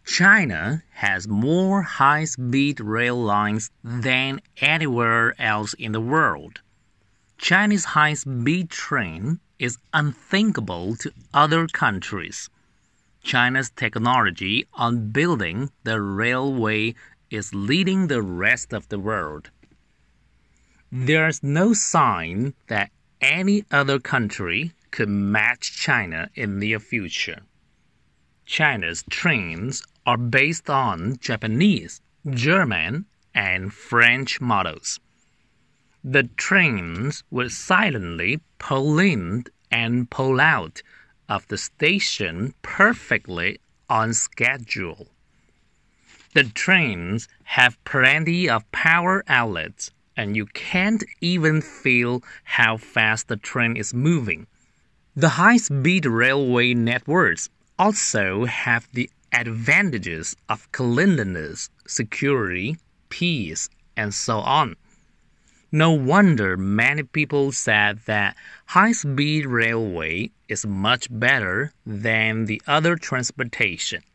China has more high-speed rail lines than anywhere else in the world. Chinese high-speed train is unthinkable to other countries. China's technology on building the railway is leading the rest of the world. There's no sign that any other country could match China in the future. China's trains are based on Japanese, German, and French models. The trains would silently pull in and pull out of the station perfectly on schedule. The trains have plenty of power outlets, and you can't even feel how fast the train is moving. The high-speed railway networks also have the advantages of cleanliness, security, peace, and so on. No wonder many people said that high-speed railway is much better than the other transportation.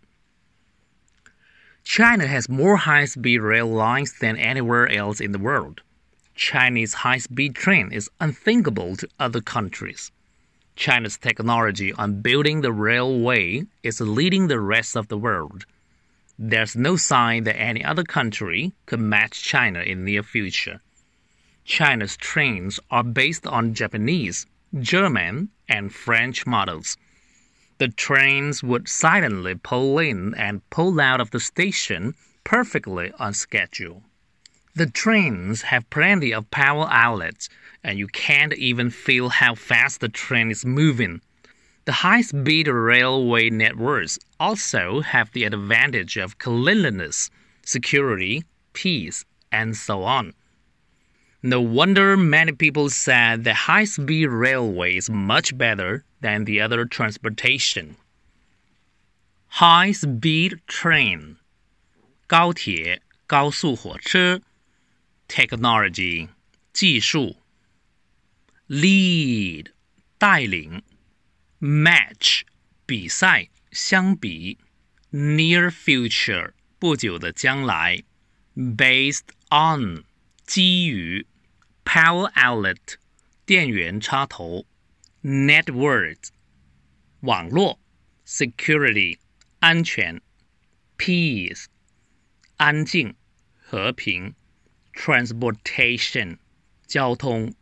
China has more high-speed rail lines than anywhere else in the world. Chinese high-speed train is unthinkable to other countries. China's technology on building the railway is leading the rest of the world. There's no sign that any other country could match China in the future. China's trains are based on Japanese, German, and French models. The trains would silently pull in and pull out of the station perfectly on schedule. The trains have plenty of power outlets, and you can't even feel how fast the train is moving. The high-speed railway networks also have the advantage of cleanliness, security, peace, and so on. No wonder many people said that high-speed railway is much better than the other transportation. High-speed train 高铁、高速火车 Technology 技术 Lead 带领 Match 比赛相比 Near future 不久的将来 Based on 基于 Power outlet 电源插头 Network 网络 Security 安全 Peace 安静和平 Transportation 交通